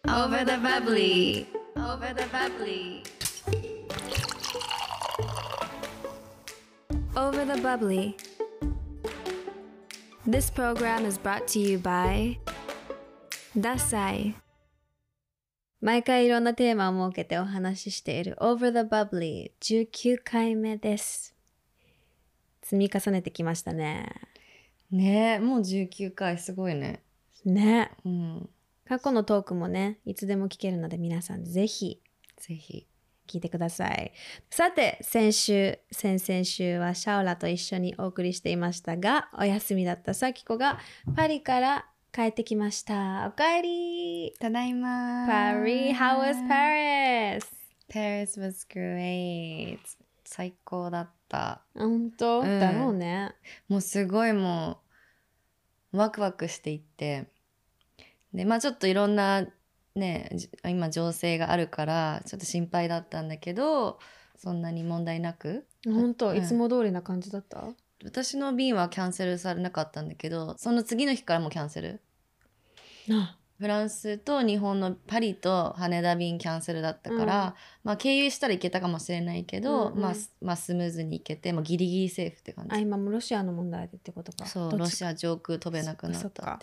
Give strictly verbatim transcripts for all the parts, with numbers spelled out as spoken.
Over the bubbly, over the bubbly, over the bubbly. This program is brought to you by ダサい。毎回いろんなテーマを設けてお話ししている Over the bubbly じゅうきゅうかいめです。積み重ねてきましたね。 ねえ、もうじゅうきゅうかいすごいね。 ね。 うん。 過去のトークもね、いつでも聞けるので皆さんぜひぜひ聞いてください。さて、先週、先々週はシャオラと一緒にお送りしていましたが、お休みだったサキコがパリから帰ってきました。おかえり。 ただいま。 パリ、how was Paris? Paris was great. 最高だった。 本当、うん、だろうね。 もうすごいもうワクワクしていって、でまあちょっといろんなね今情勢があるからちょっと心配だったんだけど、そんなに問題なく。 本当、 うん、 いつも通りな感じだった？ 私の便はキャンセルされなかったんだけど、その次の日からもキャンセル。 あ、 フランスと日本のパリと羽田便キャンセルだったから、うん、まあ経由したら行けたかもしれないけど、うんうん、まあ、まあスムーズに行けて、もうギリギリセーフって感じ。 あ、今もロシアの問題でってことか。 そう、ロシア上空飛べなくなったっていう。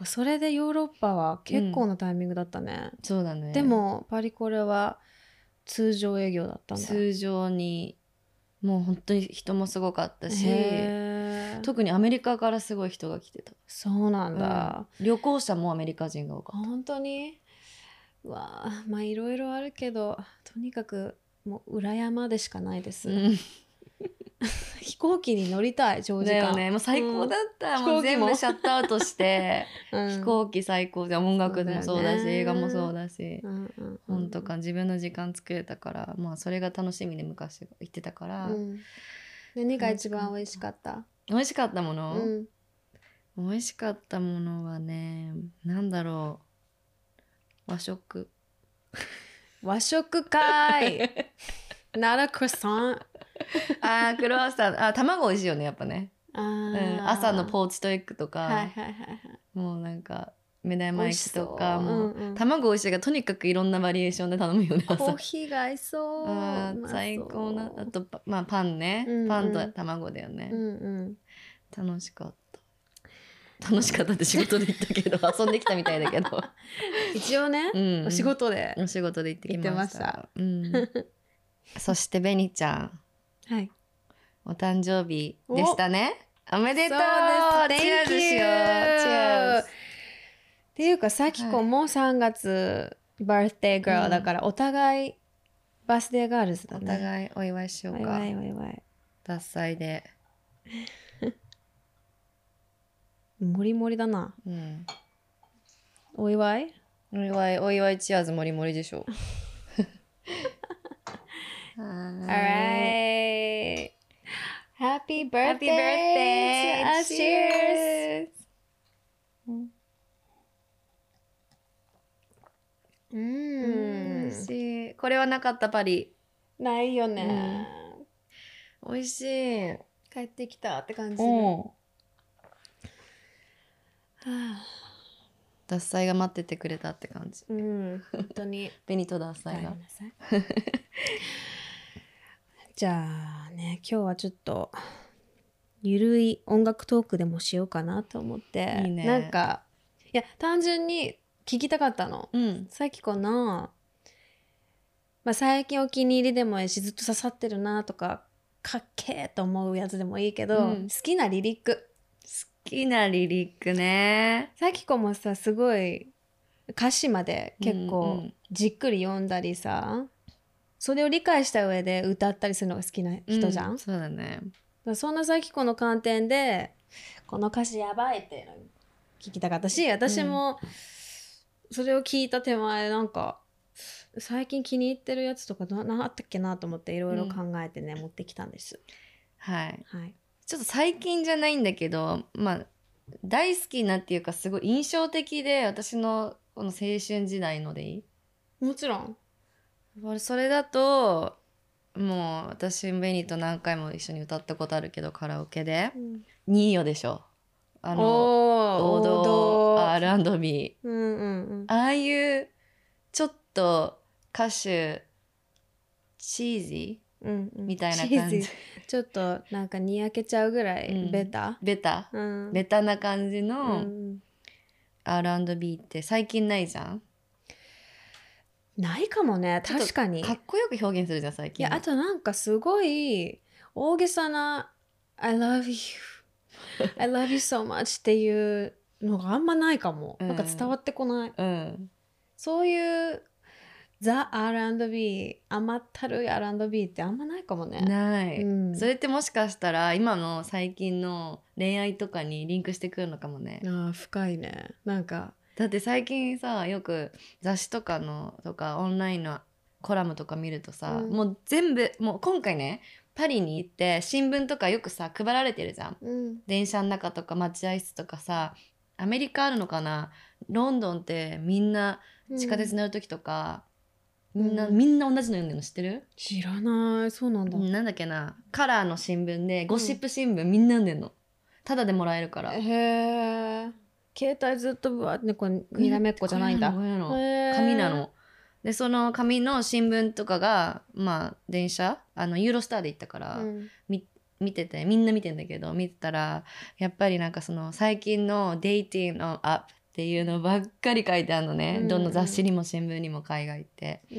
それでヨーロッパは結構なタイミングだったね。 うん、そうだね。 でもパリコレは通常営業だったんだ。 通常にもう本当に人もすごかったし、特にアメリカからすごい人が来てた。 そうなんだ、 うん、旅行者もアメリカ人が多かった。 本当に？うわあ、まあいろいろあるけど、とにかくもう裏山でしかないです、うん、飛行機に乗りたい、長時間。だよね、もう最高だった、うん、もう全部シャットアウトして、うん、飛行機最高で、音楽もそうだし、映画もそうだし、うんうんうん、本当か自分の時間作れたから、まあそれが楽しみで昔行ってたから、うん、 何が一番美味しかった？ 美味しかったもの、うん、美味しかったものはね、なんだろう、和食。 和食かい。Not a croissant。 あー、クロワッサン。あ、卵美味しいよね、やっぱね。あ、うん、朝のポーチとエッグとか、はいはいはいはい、もうなんか目玉焼きとかもう、うんうん、卵美味しいからとにかくいろんなバリエーションで頼むよね、朝。 コーヒーが合いそう。 あ、最高な。あと、まあ、パンね、うんうん、パンと卵だよね、うんうん、楽しかった。楽しかったって仕事で行ったけど遊んできたみたいだけど一応ね、うん、お仕事でお仕事で行ってきました。 行ってました、 うん、そしてベニちゃん、 はい、 お誕生日でしたね。おめでとう。チアーズしよう。チアーズ。 っていうかさきこもさんがつバースデーガールだから、お互いバースデーガールズだね。 お互いお祝いしようか。 お祝いお祝い。 獺祭でもりもりだな、うん、お祝いお祝いお祝いチアーズもりもりでしょ Alright, Happy birthday, Happy birthday to us. Cheers. うん、 美味しい。これはなかったパリ。 ないよね、 うん、美味しい。 帰ってきたって感じする。獺祭が待っててくれたって感じ。 うん、本当に。 紅と獺祭が。 じゃあね、今日はちょっとゆるい音楽トークでもしようかなと思って。いいね。なんかいや単純に聞きたかったの。うん、さきこの、まあ、最近お気に入りでもいいしずっと刺さってるなとかかっけーと思うやつでもいいけど、うん、好きなリリック。 好きなリリックね。 さきこもさすごい歌詞まで結構じっくり読んだりさ、うんうん、それを理解した上で歌ったりするのが好きな人じゃん、 うん、そうだね。 だそんなさきこの観点でこの歌詞やばいっていうの聞きたかったし、私もそれを聞いた手前なんか最近気に入ってるやつとか何あったっけなと思っていろいろ考えてね、うん、持ってきたんです。 はい、はい、ちょっと最近じゃないんだけど、まあ大好きなっていうかすごい印象的で、私のこの青春時代のでいい？ もちろん。 それだともう私ベニと何回も一緒に歌ったことあるけどカラオケで、うん、ニーヨでしょ。 あの王道 アールアンドビー、 うんうんうん、 ああいうちょっと歌手チーズ、うんうん、みたいな感じ、 ちょっとなんかにやけちゃうぐらいベタ、うん、 ベタ、うん、ベタな感じの アールアンドビー って最近ないじゃん。 ないかもね、確かに。 かっこよく表現するじゃん最近。 いや、あとなんかすごい大げさな I love you I love you so much っていうのがあんまないかも、うん、なんか伝わってこない、うん、そういうザ・ アールアンドビー 甘ったるい アールアンドビー ってあんまないかもね。 ない、うん、それってもしかしたら今の最近の恋愛とかにリンクしてくるのかもね。 あ、深いね。なんかだって最近さ、よく雑誌とかのとかオンラインのコラムとか見るとさ、うん、もう全部もう今回ねパリに行って新聞とかよくさ配られてるじゃん、うん、電車の中とか待合室とかさ、アメリカあるのかな、ロンドンってみんな地下鉄乗る時とか、うん、みんな、みんな同じの読んでるの知ってる？ 知らない。そうなんだ。 なんだっけな、カラーの新聞でゴシップ新聞、みんな読んでんの、ただでもらえるから。 へー、携帯ずっとぶわってこうにらめっこじゃないんだ。 紙なの。でその紙の新聞とかがまあ電車あのユーロスターで行ったから、うん、み見ててみんな見てんだけど、見てたらやっぱりなんかその最近のデイティングのアップっていうのばっかり書いてあるのね、うんうん、どの雑誌にも新聞にも海外って、うん、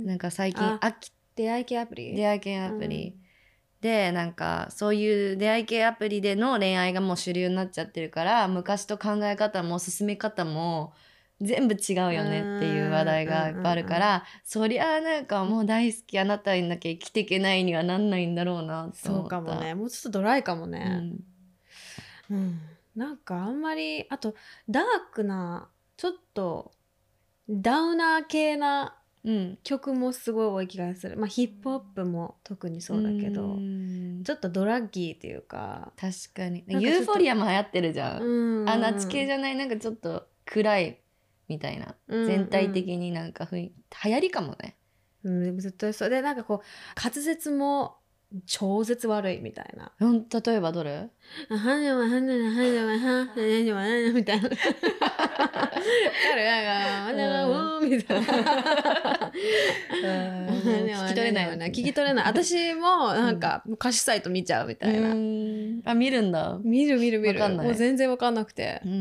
なんか最近秋出会い系アプリ出会い系アプリ、うん、でなんかそういう出会い系アプリでの恋愛がもう主流になっちゃってるから、昔と考え方も進め方も全部違うよねっていう話題がいっぱいあるから、うんうんうん、そりゃなんかもう大好きあなたになきゃ生きていけないにはなんないんだろうなと思った。 そうかもね、もうちょっとドライかもね、うん、うん、なんかあんまりあとダークなちょっとダウナー系な曲もすごい多い気がする、まあヒップホップも特にそうだけど、ちょっとドラッギーっていうか、 確かにユーフォリアも流行ってるじゃん、うん、あナチ系じゃない、なんかちょっと暗いみたいな、うんうん、全体的になんかふい流行りかもね、 うん、絶対そうで、なんかこう滑舌も超絶悪いみたいな、 うん、例えばどれ？ はねははねはねははねはねみたいな彼らがはねはみたいな聞き取れないよね、聞き取れない。私もなんか歌詞サイト見ちゃうみたいな、うん、 あ見るんだ、 見る見る見る、もう全然分かんなくて、うんうん、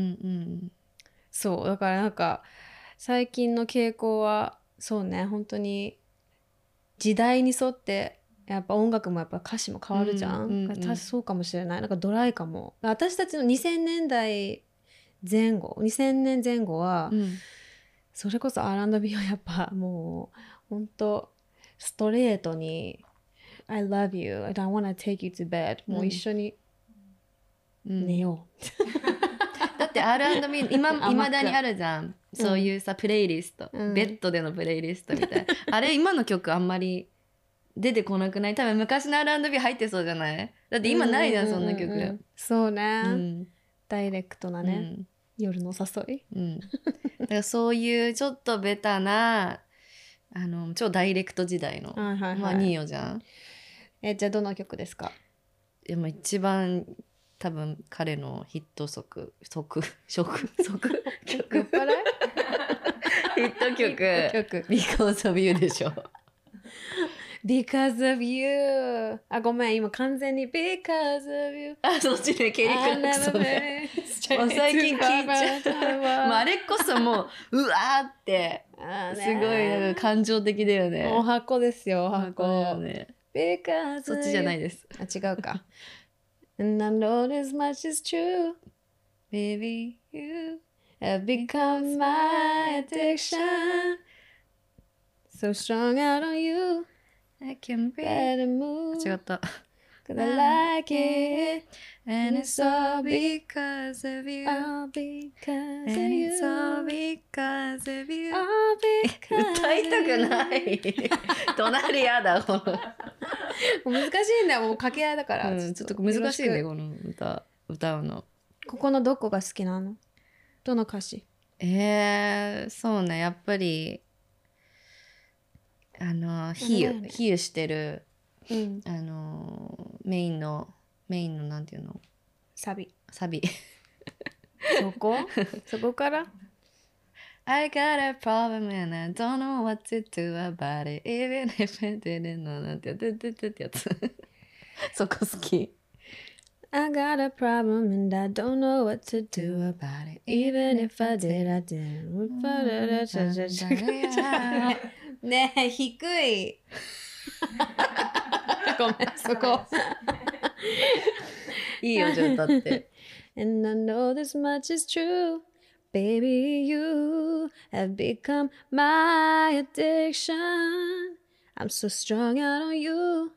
そうだからなんか最近の傾向はそうね、本当に時代に沿ってやっぱ音楽もやっぱ歌詞も変わるじゃん、うんうんうん、確かそうかもしれない。なんかドライかも。私たちのにせんねんだいぜん後にせんねんぜん後は、うん、それこそ アールアンドビー はやっぱもうほんとストレートに I love you, I don't wanna take you to bed、うん、もう一緒に寝よう、うんだって アールアンドビー 今いまだにあるじゃん、そういうさ、うん、プレイリスト、うん、ベッドでのプレイリストみたいなあれ今の曲あんまり出てこなくない？多分昔の アールアンドビー 入ってそうじゃない？だって今ないじゃん、うんうんうんうん、そんな曲。 そうね、うん、ダイレクトなね、うん、夜の誘い、 うん、だからそういうちょっとベタなあの超ダイレクト時代の、はいはいはい、まあニーヨじゃん。 えじゃあどの曲ですか？ でも一番多分彼のヒット曲曲曲曲曲ヒット曲「Because of You」でしょ。 Because of you あごめん今完全に Because of you あそっちね、ケリー・クラクソンねもう最近聞いちゃうもうあれこそもううわーってすごいなんか感情的だよね。 お箱ですよ、お箱だよね。Because そっちじゃないです。 あ違うかAnd I know this much is true Baby you have become my addiction So strong out on you I can breathe Better move 違った Cause I like it And it's all because of you All because of And you it's all because of you All because 歌いたくない隣やだこの難しいんだよ、もう掛け合いだから、 うん、ちょっと難しいねこの歌歌うの。 ここのどこが好きなの？どの歌詞？ えー、そうね、やっぱりあの比喩、ね、比喩してる、うん、あのメインのメインのなんていうのサビサビそこそこから I got a problem and I don't know what to do about it even if I didn't know なんてやってってってやつそこ好き。 I got a problem and I don't know what to do about it even if I did I didn't ねえ低いごめんそこいいよじゃあ歌って。 And I know this much is true Baby, you have become my addiction. I'm so strung out on you.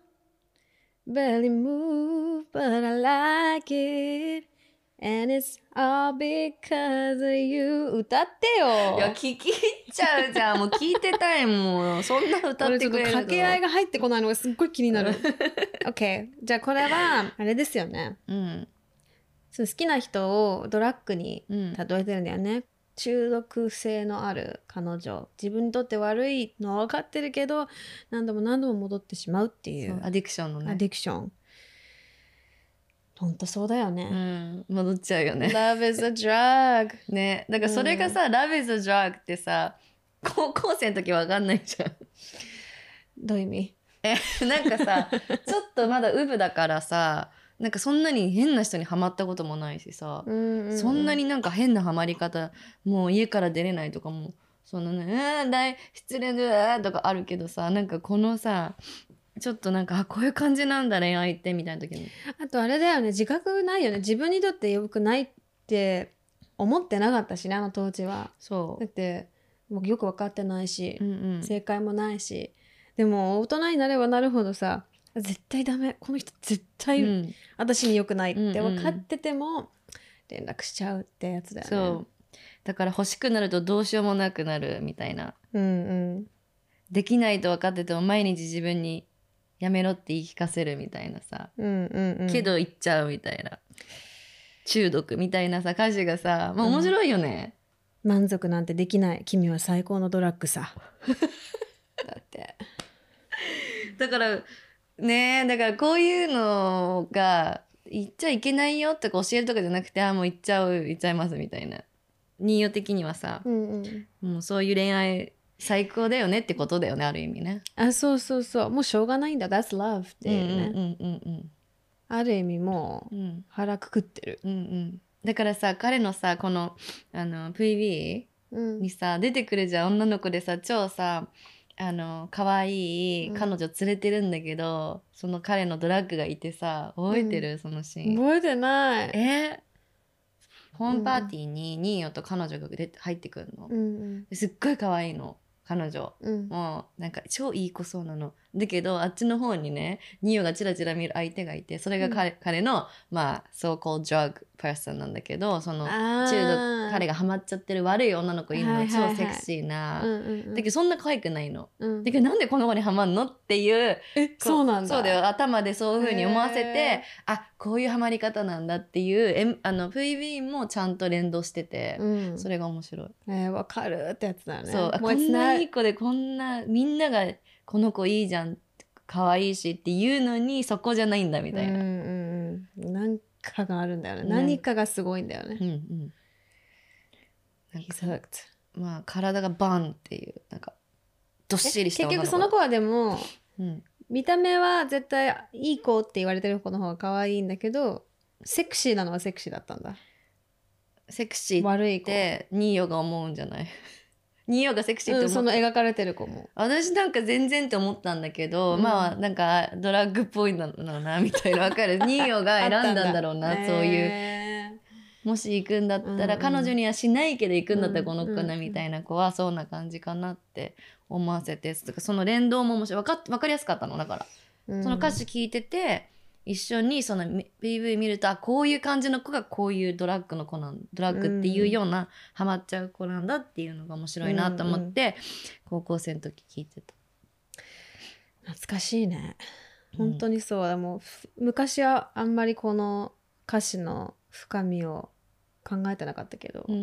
Barely move, but I like it. And it's all because of you. 歌ってよ。 いや聞き入っちゃうじゃん。もう聞いてたいもん。そんな歌ってくれるの。 俺ちょっと掛け合いが入ってこないのがすっごい気になる。OK。じゃあこれはあれですよね。 うん。 その好きな人をドラッグに例えてるんだよね。うん、中毒性のある彼女、自分にとって悪いのは分かってるけど何度も何度も戻ってしまうっていうアディクションのね。 アディクション。ほんとそうだよね。 うん、戻っちゃうよね。 Love is a drug ね、だからそれがさ、うん、Love is a drug ってさ高校生の時分かんないじゃん。 どういう意味？ えなんかさちょっとまだウブだからさなんかそんなに変な人にハマったこともないしさ、うんうんうん、そんなになんか変なハマり方もう家から出れないとかもそのね、うん、大失恋だとかあるけどさ、なんかこのさちょっとなんかあこういう感じなんだ恋愛ってみたいな時に、 あとあれだよね、自覚ないよね、自分にとって良くないって思ってなかったしね、あの当時は。 そうだって僕よく分かってないし、うんうん、正解もないし、でも大人になればなるほどさ、絶対ダメ、この人絶対私に良くないって分かってても連絡しちゃうってやつだよね。 そうだから欲しくなるとどうしようもなくなるみたいな、 うんうん、 できないと分かってても毎日自分にやめろって言い聞かせるみたいなさ、うんうんうん、けど言っちゃうみたいな中毒みたいなさ歌詞がさ、まあ、面白いよね、 うん、満足なんてできない君は最高のドラッグさだってだからねえ、だからこういうのが言っちゃいけないよとか教えるとかじゃなくて、あもう言っちゃう言っちゃいますみたいな、ニーヨ的にはさ、うんうん、もうそういう恋愛最高だよねってことだよね、ある意味ね。 あ、そうそうそう、もうしょうがないんだ、 That's love っていうね、うんうんうんうん、ある意味もう腹くくってる、うんうん、 だからさ彼のさこのあの ブイビー にさ、うん、出てくるじゃん、女の子でさ超さあの可愛い彼女連れてるんだけど、うん、その彼のドラッグがいてさ、覚えてる、うん、そのシーン。 覚えてない。 えホームパーティーにニーヨと彼女が出て入ってくるの、うんうん、すっごい可愛いの彼女、うん、もうなんか超いい子そうなのだけど、あっちの方にねニーヨがチラチラ見る相手がいて、それが 彼,、うん、彼のまあ so called drug person なんだけど、その中毒彼がハマっちゃってる悪い女の子いるの、はいはいはい、超セクシーな、うんうんうん、だけどそんな可愛くないの、うん、だけどなんでこの子にハマんのっていう、 えそうなんだ、 そうだよ、頭でそういう風に思わせて、あこういうハマり方なんだっていうえあの ブイビー もちゃんと連動してて、うん、それが面白い。 えー、わかるってやつだよね。 そうこんないい子でこんなみんながこの子いいじゃん可愛いしっていうのにそこじゃないんだみたいな、うんうんうん、なんかがあるんだよね、何かがすごいんだよね、うんうん、 なんかまあ体がバンっていうなんかどっしりした女の子、結局その子はでも、うん、見た目は絶対いい子って言われてる子の方が可愛いんだけど、セクシーなのはセクシーだったんだ。 セクシーってニーヨが思うんじゃないニーヨがセクシーって思った、うん、 その描かれてる子も私なんか全然って思ったんだけど、うん、まあなんかドラッグっぽいのなみたいな分かるニーヨが選んだんだろうなそういう、えー、もし行くんだったら、うんうん、彼女にはしないけど行くんだったらこの子なみたいな子はそんな感じかなって思わせて、その連動も面白い、分か、分かりやすかったのだから、うん、その歌詞聞いてて一緒にその ピーブイ 見ると、あこういう感じの子がこういうドラッグの子なんドラッグっていうような、うん、ハマっちゃう子なんだっていうのが面白いなと思って、うんうん、高校生の時聞いてた。 懐かしいね、本当にそう、うん、でも昔はあんまりこの歌詞の深みを考えてなかったけど、うんうん、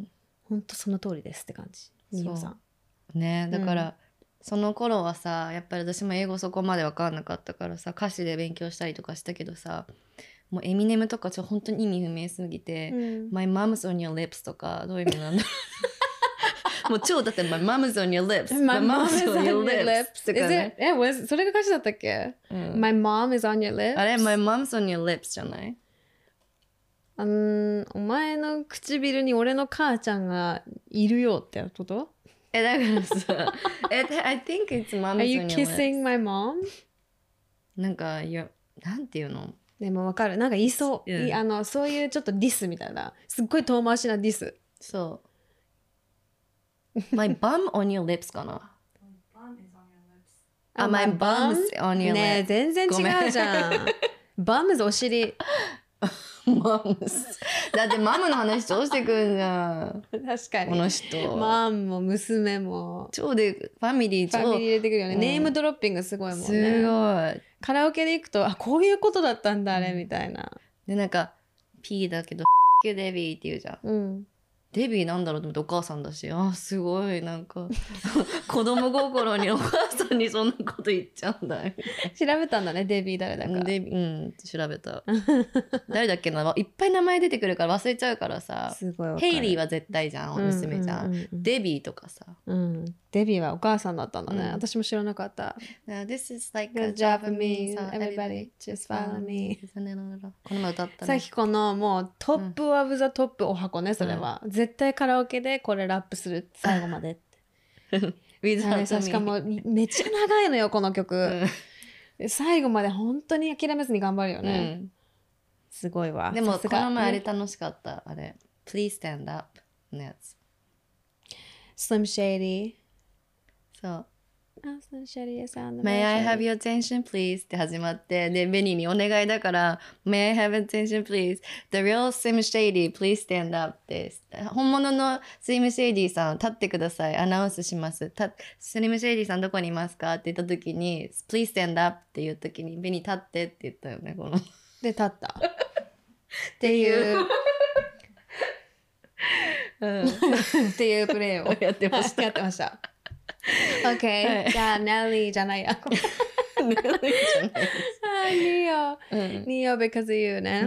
本当その通りですって感じ。ニーヨさんね、だから、うん、その頃はさやっぱり私も英語そこまで分かんなかったからさ歌詞で勉強したりとかしたけどさ、 もうエミネムとかちょっと本当に意味不明すぎて、うん、My mom's on your lips とかどういう意味なんだろうもう超だって My mom's on your lips My mom is on your lips とかね。え、was それが歌詞だったっけ、うん、My mom is on your lips あれ My mom's on your lips じゃない？ うん、お前の唇に俺の母ちゃんがいるよってこと？ え、だからさI think it's mom's on your lips. Are you kissing my mom? なんか、いや、なんていうの？ でもわかる。なんか言いそう。うん、いあの、そういうちょっとディスみたいな。すっごい遠回しなディス。 そう。My bum on your lips かな。あ、my bum's on your lips。 ねえ、全然違うじゃん。bums お尻。 マムスだってマムの話超してくんじゃん。 確かにこの人マンも娘も超でファミリー超ファミリー入れてくるよね、うん、ネームドロッピングすごいもんね。 すごい。 カラオケで行くとあこういうことだったんだあれ、うん、みたいな。 でなんか P だけどデビーって言うじゃん、うん、デビーなんだろうと思ってお母さんだし、あすごいなんか子供心にお母さんにそんなこと言っちゃうんだ調べたんだねデビー誰だか。 デビうん調べた誰だっけな、いっぱい名前出てくるから忘れちゃうからさ。 すごいヘイリーは絶対じゃん、娘じゃん、うんうんうんうん、デビーとかさ、 うん、デビーはお母さんだったんだね、うん、私も知らなかった。 This is like a Japanese everybody just follow me この前歌ったね。 さっきこのもうトップオブザトップお箱ねそれは、うん、絶対カラオケでこれラップする最後までってしかもめっちゃ長いのよこの曲、うん、最後まで本当に諦めずに頑張るよね、うん、すごいわ。 でもこの前あれ楽しかった、あれ Please Stand Up のやつ Slim Shady。 そう、 May I have your attention please って始まって、でベニーにお願いだから May I have attention please The real Slim Shady please stand up って本物のスリムシェイディさん立ってくださいアナウンスします。たスリムシェイディさんどこにいますかって言った時に Please stand up っていう時にベニー立ってって言ったよね。こので立ったっていううん、っていうプレーをやってましたやってました。OK、はい、じゃあネリーじゃないやネリーじゃないニオ、うん、ニオ because of you ね、うん、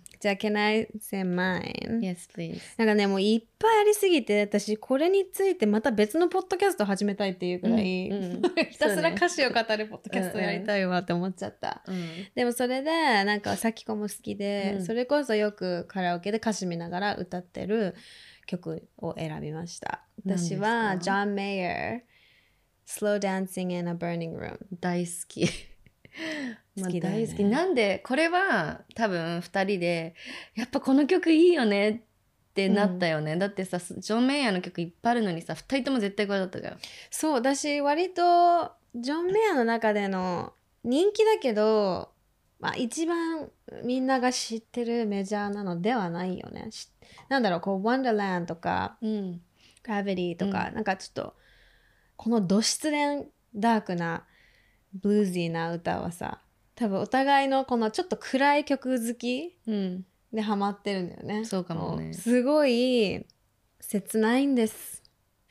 じゃあ Can I say mine? Yes please。 なんかねもういっぱいありすぎて私これについてまた別のポッドキャスト始めたいっていうくらい、うんうん、ひたすら歌詞を語るポッドキャストやりたいわって思っちゃった、うんうん、でもそれでなんかさきこも好きで、うん、それこそよくカラオケで歌詞見ながら歌ってる曲を選びました。私はジョン・メイヤーSlow Dancing in a Burning Room 大好き好きだよね、 大好き。なんでこれは多分ふたりでやっぱこの曲いいよねってなったよね、うん、だってさジョン・メイヤーの曲いっぱいあるのにさふたりとも絶対これだったじゃん。 そう私割とジョン・メイヤーの中での人気だけど、まあ、一番みんなが知ってるメジャーなのではないよね。なんだろうこう Wonderland とか、うん、Gravity とか、うん、なんかちょっとこのど失恋ダークなブルージーな歌はさ多分お互いのこのちょっと暗い曲好きでハマってるんだよね、 うん、そうかもね。 すごい切ないんです。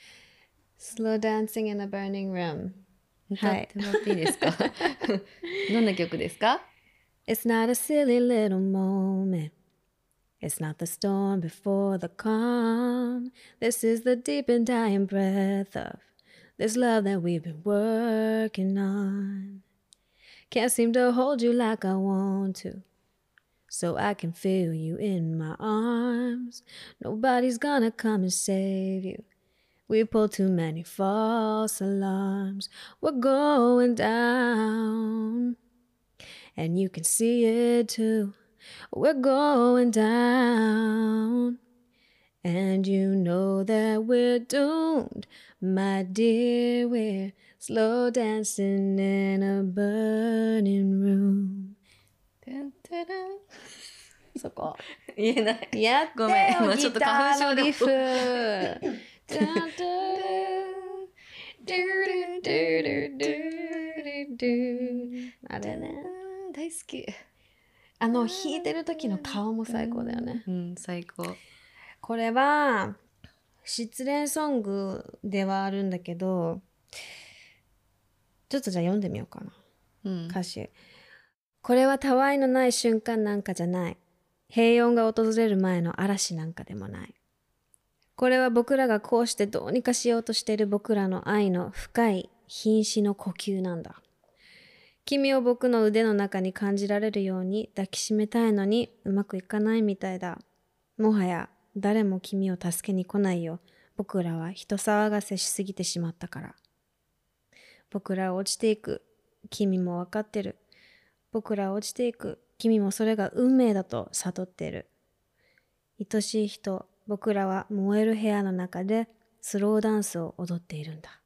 Slow Dancing in a Burning Room 歌ってもらっていいですかどんな曲ですか？ It's not a silly little moment It's not the storm before the calm This is the deep and dying breath of This love that we've been working on Can't seem to hold you like I want to So I can feel you in my arms Nobody's gonna come and save you We pulled too many false alarms We're going down And you can see it too We're going down And you know that we're doomed My dear, we're slow dancing in a burning room そこ言えない。 やってよ。 ごめん今ちょっと花粉症でギターのリフあれね大好き。 あの弾いてる時の顔も最高だよね。 うん最高。 これは失恋ソングではあるんだけどちょっとじゃあ読んでみようかな、うん、歌詞これはたわいのない瞬間なんかじゃない。平穏が訪れる前の嵐なんかでもない。これは僕らがこうしてどうにかしようとしている僕らの愛の深い瀕死の呼吸なんだ。君を僕の腕の中に感じられるように抱きしめたいのにうまくいかないみたいだ。もはや誰も君を助けに来ないよ。僕らは人騒がせしすぎてしまったから。僕らは落ちていく。君もわかってる。僕らは落ちていく。君もそれが運命だと悟っている。愛しい人、僕らは燃える部屋の中でスローダンスを踊っているんだ。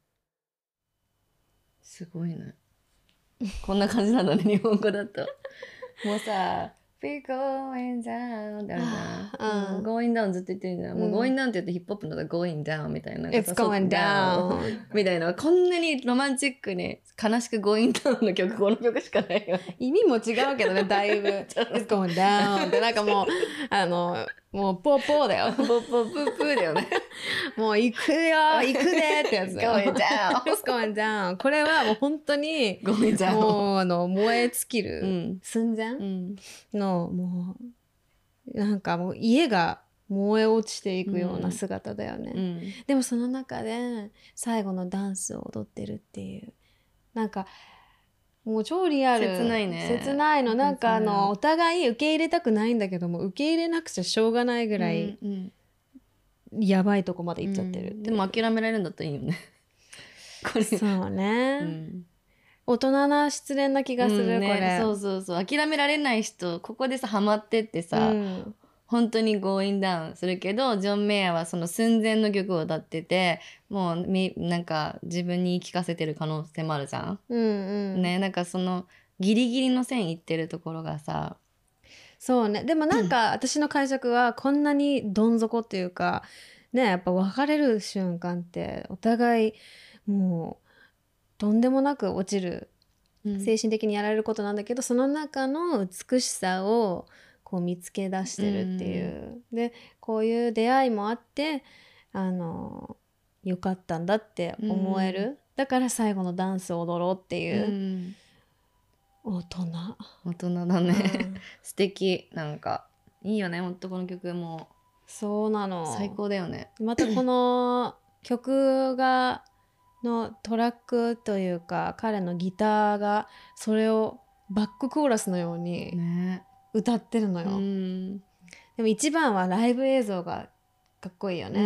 すごいね。こんな感じなんだね、日本語だと。もうさ、We're going down ってあるじゃん。うん、going down ずっと言ってるじゃん。もう going down って言うとヒップホップのだと going down みたいな。 It's going down みたいな。こんなにロマンチックに悲しく going down の曲、この曲しかないよ。 意味も違うけどね、だいぶ。It's going down ってなんかもう、あの、もうポーポーだよ。 ポーポープープーだよね。 もう行くよ行くでってやつだよ。 going down It's going down これはもう本当に going down もうあの燃え尽きる、 うん、 寸前うんのもうなんかもう家が燃え落ちていくような姿だよね、 うん、 でもその中で最後のダンスを踊ってるっていうなんかもう超リアル切ないね切ないのなんかあのお互い受け入れたくないんだけども受け入れなくちゃしょうがないぐらい、 うんうんやばいとこまで行っちゃってる、 うん、でも諦められるんだったらいいよねこれそうね、うん、大人な失恋な気がする、うんね、これそうそうそう諦められない人ここでさハマってってさ、うん、本当にゴーインダウンするけどジョン・メイヤーはその寸前の曲を歌っててもうみなんか自分に言い聞かせてる可能性もあるじゃん、うんうん、ねなんかそのギリギリの線いってるところがさそうねでもなんか私の解釈はこんなにどん底っていうかねやっぱ別れる瞬間ってお互いもうとんでもなく落ちる、うん、精神的にやられることなんだけどその中の美しさをこう見つけ出してるっていう、うん、でこういう出会いもあってあのよかったんだって思える、うん、だから最後のダンスを踊ろうっていう、うん大人大人だね、うん、素敵なんかいいよねほんとこの曲もそうなの最高だよねまたこの曲がのトラックというか彼のギターがそれをバックコーラスのように歌ってるのよ、ね、うんでも一番はライブ映像がかっこいいよね、うん、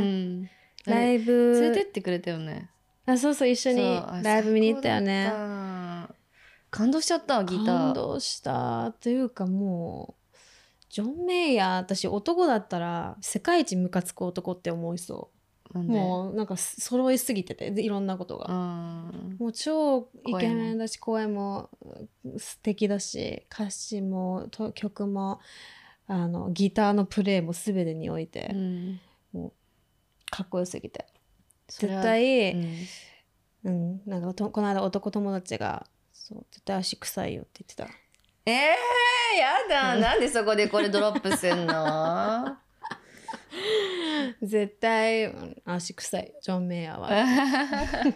ライブ連れてってくれたよねあそうそう一緒にライブ見に行ったよね感動しちゃったギター感動したというかもうジョン・メイヤー私男だったら世界一ムカつく男って思いそうもうなんか揃いすぎてていろんなことがもう超イケメンだし声も素敵だし歌詞も曲もあのギターのプレイも全てにおいて、うん、もうかっこよすぎて絶対、うんうん、なんかとこの間男友達がそう絶対足臭いよって言ってたえーやだなんでそこでこれドロップすんの絶対足臭いジョン・メイヤーは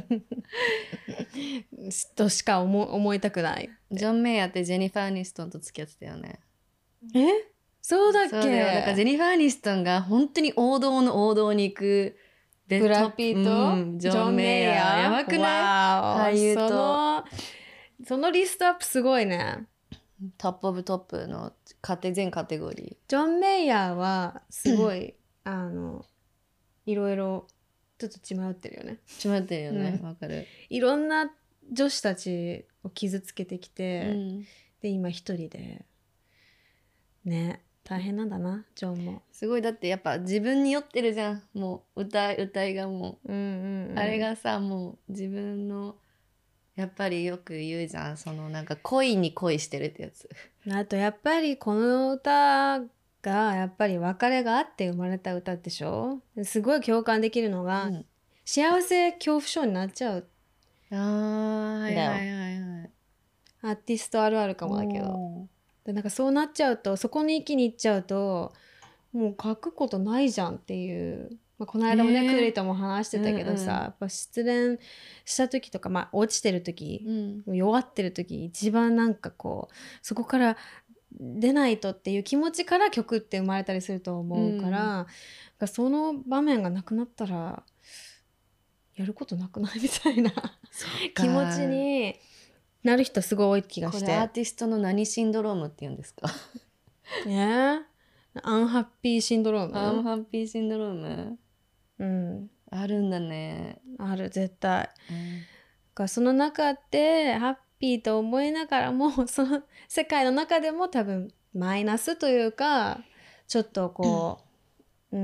としか 思, 思いたくないジョン・メイヤーってジェニファー・アニストンと付き合ってたよねえそうだっけそうだよだからジェニファー・アニストンが本当に王道の王道に行くブラピーと、 うん、ジョン・メイヤーやばくない俳優とそのそのリストアップすごいねトップオブトップのカテ全カテゴリージョン・メイヤーはすごいあのいろいろちょっと血迷ってるよね血迷ってるよねわ、うん、かるいろんな女子たちを傷つけてきて、うん、で今一人でね大変なんだなジョンもすごいだってやっぱ自分に酔ってるじゃんもう歌い歌いがもう、うんうんうん、あれがさもう自分のやっぱりよく言うじゃんそのなんか恋に恋してるってやつあとやっぱりこの歌がやっぱり別れがあって生まれた歌でしょすごい共感できるのが、うん、幸せ恐怖症になっちゃうあーはいはいはいはいアーティストあるあるかもだけどでなんかそうなっちゃうとそこに一気に行っちゃうともう書くことないじゃんっていうまあ、この間もね、クリとも話してたけどさ、うんうん、やっぱ失恋した時とか、まあ、落ちてる時、うん、弱ってる時一番なんかこうそこから出ないとっていう気持ちから曲って生まれたりすると思うから、うん、その場面がなくなったらやることなくないみたいな気持ちになる人すごい多い気がして。 これアーティストの何シンドロームって言うんですかねえ、アンハッピーシンドローム。 アンハッピーシンドローム、 うん、 あるんだね。 ある、絶対、うん、その中でハッピーと思いながらもその世界の中でも多分マイナスというかちょっとこう、うん、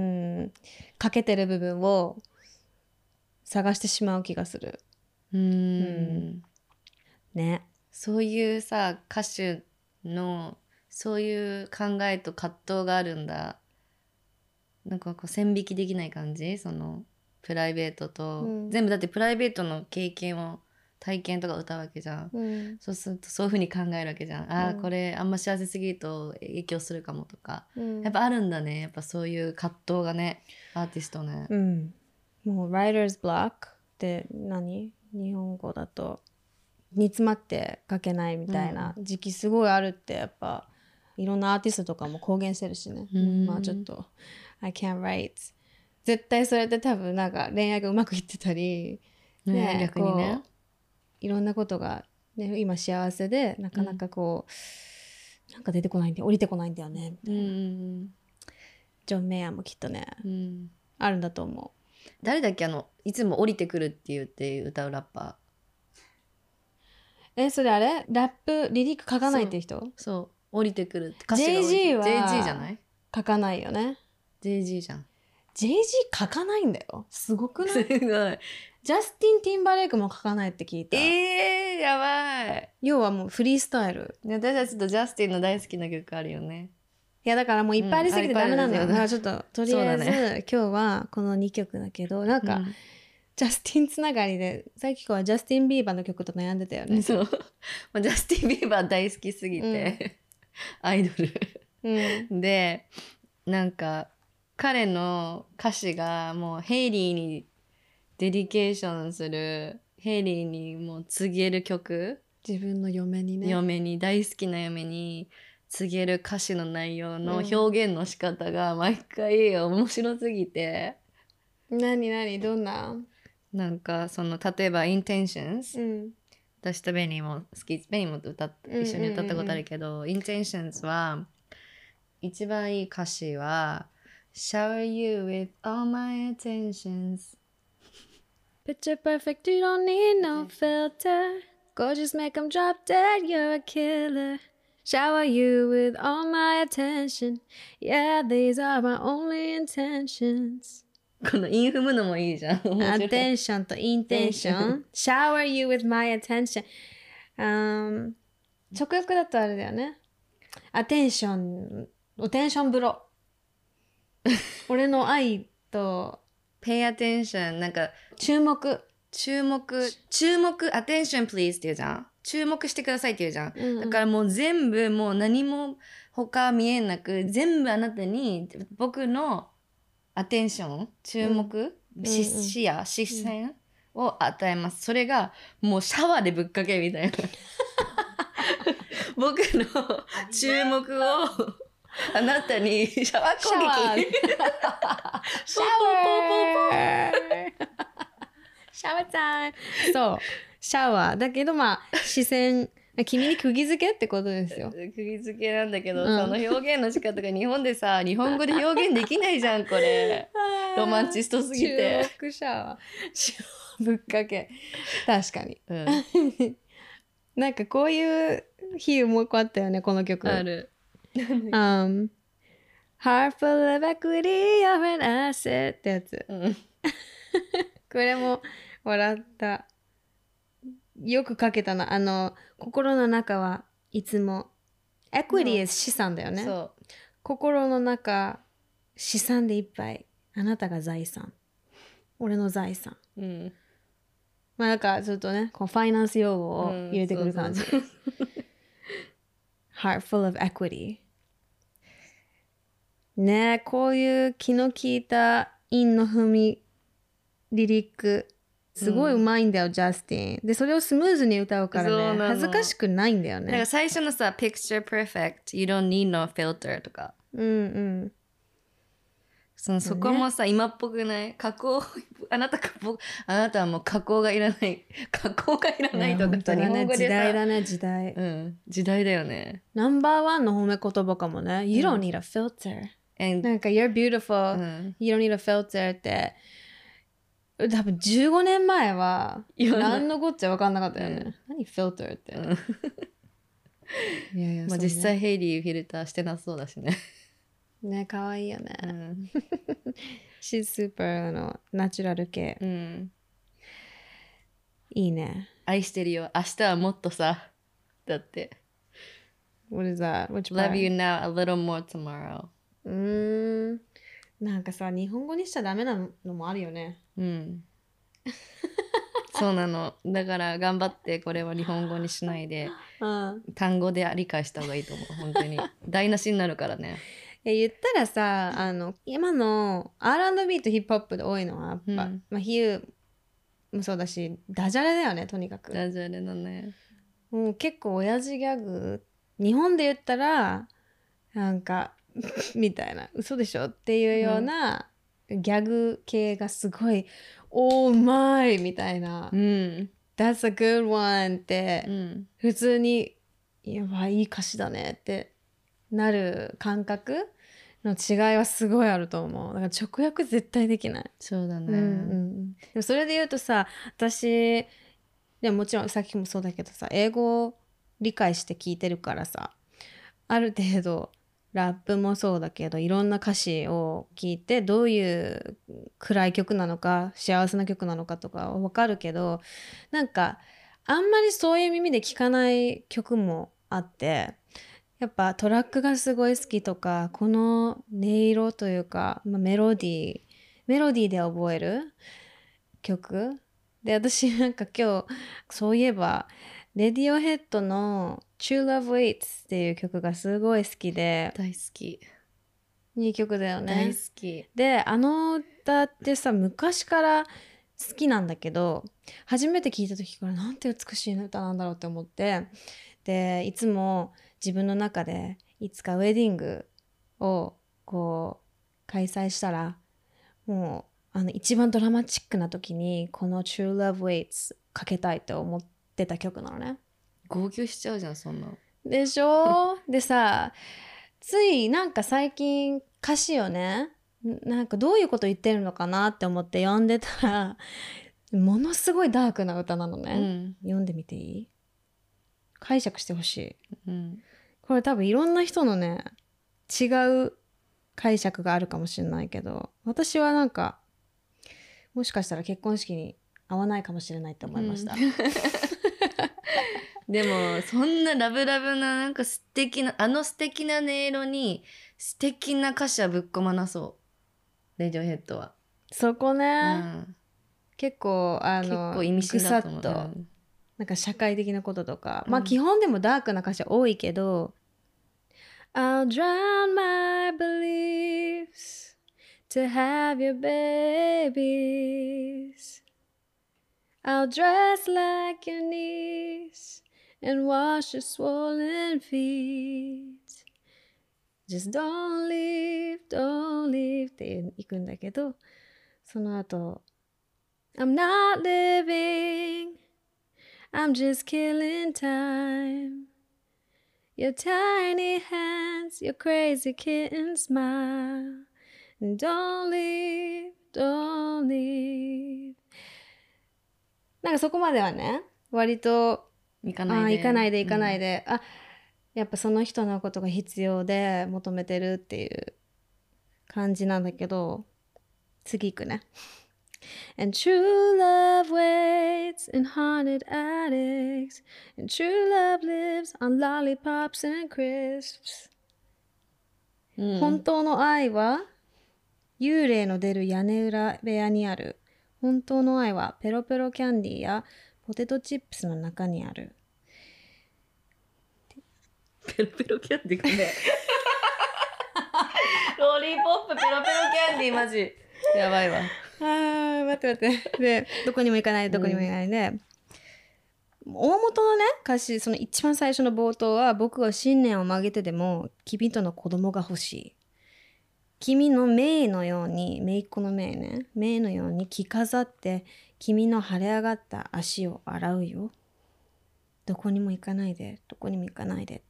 欠けてる部分を探してしまう気がする。 うーん、うん、 ね。 そういうさ歌手のそういう考えと葛藤があるんだ。なんかこう線引きできない感じ、そのプライベートと、うん、全部だってプライベートの経験を体験とか歌うわけじゃん、うん、そうするとそういう風に考えるわけじゃん、うん、あーこれあんま幸せすぎると影響するかもとか、うん、やっぱあるんだね、やっぱそういう葛藤がね、アーティストね、 うん、もう Writer's Block って何、日本語だと煮詰まって書けないみたいな時期すごいあるってやっぱいろんなアーティストとかも公言してるしね、うん、まあちょっとI can't write 絶対それって多分なんか恋愛がうまくいってたり、 ねね、逆にねいろんなことが、ね、今幸せでなかなかこう、うん、なんか出てこないんで降りてこないんだよねみたいな、うん、ジョン・メイヤーもきっとね、うん、あるんだと思う。 誰だっけ、あのいつも降りてくるって言って歌うラッパー、えそれあれラップリリック書かないっていう人？ そう、そう降りてくるって歌詞が降りて ジェイジー はジェイジー じゃない？ 書かないよね。 ジェイジー じゃん。 ジェイジー 書かないんだよ。すごくない？ すごい。 ジャスティン・ティンバレイクも書かないって聞いた。 えー、やばい。 要はもうフリースタイル。 私はちょっとジャスティンの大好きな曲あるよね。 いやだからもういっぱいありすぎてダメなんだよ、うん、だからちょっととりあえず、ね、今日はこのにきょくだけどなんか、うん、ジャスティンつながりでさっきはジャスティン・ビーバーの曲と悩んでたよね。 そうジャスティン・ビーバー大好きすぎて、うん、アイドル、うん、でなんか彼の歌詞がもうヘイリーにデディケーションする、ヘイリーにもう告げる曲、 自分の嫁にね、 嫁に大好きな嫁に告げる歌詞の内容の表現の仕方が毎回面白すぎて、 うん、何何どんな、 なんかその例えば Intentions、うん、私とベニーも好き、ベニーも歌っ一緒に歌ったことあるけど、うんうんうん、Intentions は一番いい歌詞は Shower you with all my attentions Picture perfect, you don't need no filter Gorgeous, make them drop dead, you're a killer Shower you with all my attention Yeah, these are my only intentions このインフムのもいいじゃん。 Attention と intention Shower you with my attention、um, 直訳だとあれだよね。Attentionおテンション風呂俺の愛と Pay attention なんか注目注目注目 attention please って言うじゃん。注目してくださいって言うじゃん、うんうん、だからもう全部もう何も他見えなく全部あなたに僕のアテンション注目、うん、視野視線を与えます。それがもうシャワーでぶっかけみたいな僕の注目をあなたにシャワー攻撃シャワーシャワータイムそうシャワーだけどまあ視線君に釘付けってことですよ。 釘付けなんだけど、うん、その表現の仕方が日本でさ日本語で表現できないじゃんこれロマンチストすぎて注目シャワーぶっかけ確かに、うん、なんかこういう比喩もう一個あったよねこの曲。 ある um, Heart full of equity of an asset ってやつ、うん、これも笑った。よく書けたな。あの心の中はいつも equity is 資産だよね。 そう心の中資産でいっぱい。あなたが財産。俺の財産。うん、まあなんかちょっとねこうファイナンス用語を入れてくる感じ。うん、そうそうHeart full of equity。ねえこういう気の利いた韻の踏みリリックすごい上手いんだよ、うん、ジャスティンでそれをスムーズに歌うからね恥ずかしくないんだよね。 だから最初のさ Picture Perfect You don't need no filter とかうんうんそのそこもさ、ね、今っぽくない加工あなたかあなたはもう加工がいらない加工がいらないとかさ、 日本語でさ時代だね時代うん時代だよね。 ナンバーワンの褒め言葉かもね、うん、You don't need a filter、うん、なんか You're beautiful、うん、You don't need a filter って多分じゅうごねんまえは何のこっちゃ分かんなかったよね、うん、何フィルターって、うん、 いやいや、まあ、実際ヘイリーフィルターしてなそうだしねね可愛いよね、うん、She's super のナチュラル系、うん、いいね。 愛してるよ明日はもっとさだって What is that? Which part? Love you now a little more tomorrow うーんなんかさ日本語にしちゃダメなのもあるよね。うんそうなのだから頑張ってこれは日本語にしないで、うん、単語で理解した方がいいと思う本当に台無しになるからね。 いや言ったらさあの今の アールアンドビー とヒップホップで多いのはやっぱ、うんまあ、比喩もそうだしダジャレだよねとにかく。 ダジャレだね。 もう結構親父ギャグ日本で言ったらなんかみたいな嘘でしょっていうようなギャグ系がすごい、おーうまいみたいな、うん、That's a good one って、うん、普通にやばいいい歌詞だねってなる感覚の違いはすごいあると思う。だから直訳絶対できない。 そうだね、 うんうん、でもそれで言うとさ私でももちろんさっきもそうだけどさ英語を理解して聞いてるからさある程度ラップもそうだけどいろんな歌詞を聞いてどういう暗い曲なのか幸せな曲なのかとか分かるけどなんかあんまりそういう耳で聴かない曲もあってやっぱトラックがすごい好きとかこの音色というか、まあ、メロディーメロディーで覚える曲で私なんか今日そういえばレディオヘッドの True Love Waits っていう曲がすごい好きで大好きいい曲だよね。 大好きであの歌ってさ昔から好きなんだけど初めて聞いた時からなんて美しい歌なんだろうって思ってでいつも自分の中でいつかウェディングをこう開催したらもうあの一番ドラマチックな時にこの True Love Waits かけたいと思ってた曲なのね。 号泣しちゃうじゃんそんなでしょでさついなんか最近歌詞をねなんかどういうこと言ってるのかなって思って読んでたらものすごいダークな歌なのね、うん、読んでみていい？解釈してほしい、うん、これ多分いろんな人のね違う解釈があるかもしれないけど私はなんかもしかしたら結婚式に合わないかもしれないって思いました、うんでもそんなラブラブななんか素敵なあの素敵な音色に素敵な歌詞はぶっ込まなそうレディオヘッドはそこね、うん、結構あの結構意味深だと思う、 ぐさっと、うん、なんか社会的なこととか、うん、まあ基本でもダークな歌詞は多いけど、うん、I'll drown my beliefs to have your babies I'll dress like your niece and wash your swollen feet Just don't leave, don't leave っていくんだけどその後 I'm not living I'm just killing time Your tiny hands, your crazy kitten smile And don't leave, don't leave なんかそこまではね割と行かないで行かないで行かないで、うん、あやっぱその人のことが必要で求めてるっていう感じなんだけど次行くね And true love waits in haunted attics And true love lives on lollipops and crisps、うん、本当の愛は幽霊の出る屋根裏部屋にある本当の愛はペロペロキャンディーやポテトチップスの中にあるペロペロキャンディーねロリーポップペロペロキャンディーマジやばいわ。 あー待って待ってでどこにも行かないどこにも行かないで、うん、大元のね歌詞その一番最初の冒頭は僕は信念を曲げてでも君との子供が欲しい。君のメイのように姪っ子のメイねメイのように着飾って君の腫れ上がった足を洗うよ。どこにも行かないでどこにも行かないで。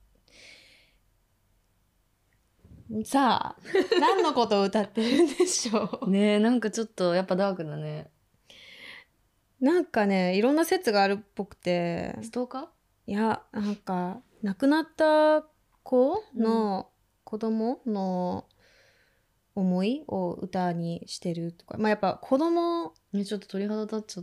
さあ何のことを歌ってるんでしょうねえなんかちょっとやっぱダークだね。 なんかねいろんな説があるっぽくてストーカー？ いやなんか亡くなった子の子供の思いを歌にしてるとか、まあやっぱ子供ねちょっと鳥肌立っちゃった。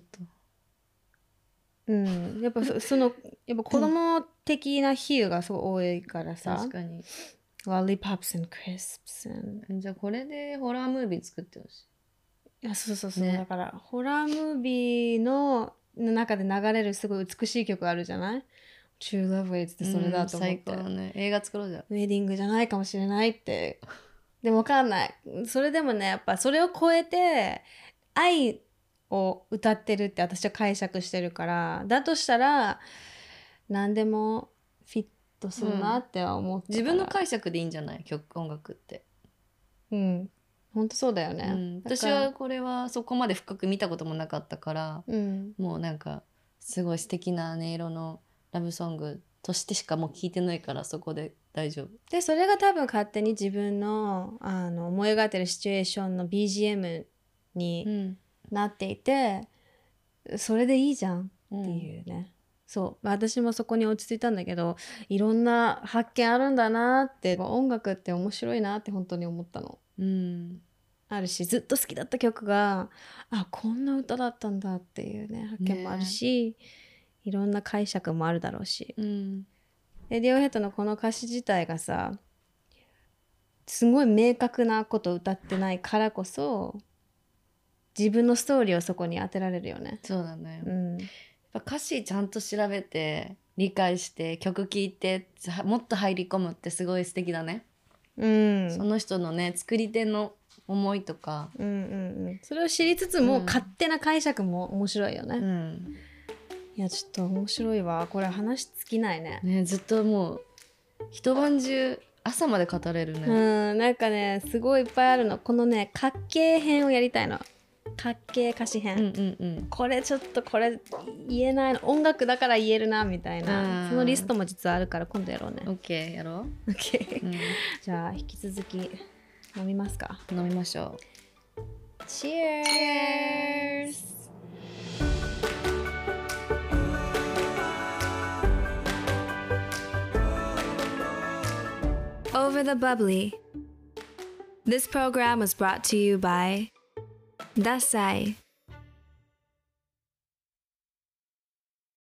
うんやっぱそ, そのやっぱ子供的な比喩がすごい多いからさ。 確かに。 Lollipops and crisps and じゃあこれでホラームービー作ってほしい。いやそうそうそう、 ね、 だからホラームービーの中で流れるすごい美しい曲あるじゃない？ True Love Waits ってそれだと思って、 うん、最高だね。映画作ろうじゃん。 ウェディングじゃないかもしれないってでも分かんない。それでもねやっぱそれを超えて愛を歌ってるって私は解釈してるからだとしたら何でもフィットするなっては思って、 うん、自分の解釈でいいんじゃない曲音楽って。 うんほんとそうだよね、 うん、私はこれはそこまで深く見たこともなかったから、うん、もうなんかすごい素敵な音色のラブソングとしてしかもう聞いてないからそこで大丈夫でそれが多分勝手に自分 の, あの思い描いてるシチュエーションの ビージーエム になっていて、うん、それでいいじゃんっていうね、うん、そう私もそこに落ち着いたんだけどいろんな発見あるんだなって音楽って面白いなって本当に思ったの、うん、あるしずっと好きだった曲があこんな歌だったんだっていうね発見もあるし、ね、いろんな解釈もあるだろうし、うん、レディオヘッドのこの歌詞自体がさすごい明確なことを歌ってないからこそ自分のストーリーをそこに当てられるよね。 そうだね、うん、やっぱ歌詞ちゃんと調べて理解して曲聴いてもっと入り込むってすごい素敵だね、うん、その人のね作り手の思いとか、うんうんうん、それを知りつつも、うん、勝手な解釈も面白いよね、うん、いやちょっと面白いわこれ話尽きないね。 ねずっともう一晩中朝まで語れるね。 うんなんかねすごいいっぱいあるの。このねかっけー編をやりたいの。かっけー歌詞編、うんうんうん、これちょっとこれ言えないの音楽だから言えるなみたいなそのリストも実はあるから今度やろうね。 OK やろう、 okay うん、じゃあ引き続き飲みますか。 飲みましょう。 Cheers! Over the Bubbly. This program was brought to you by Dasai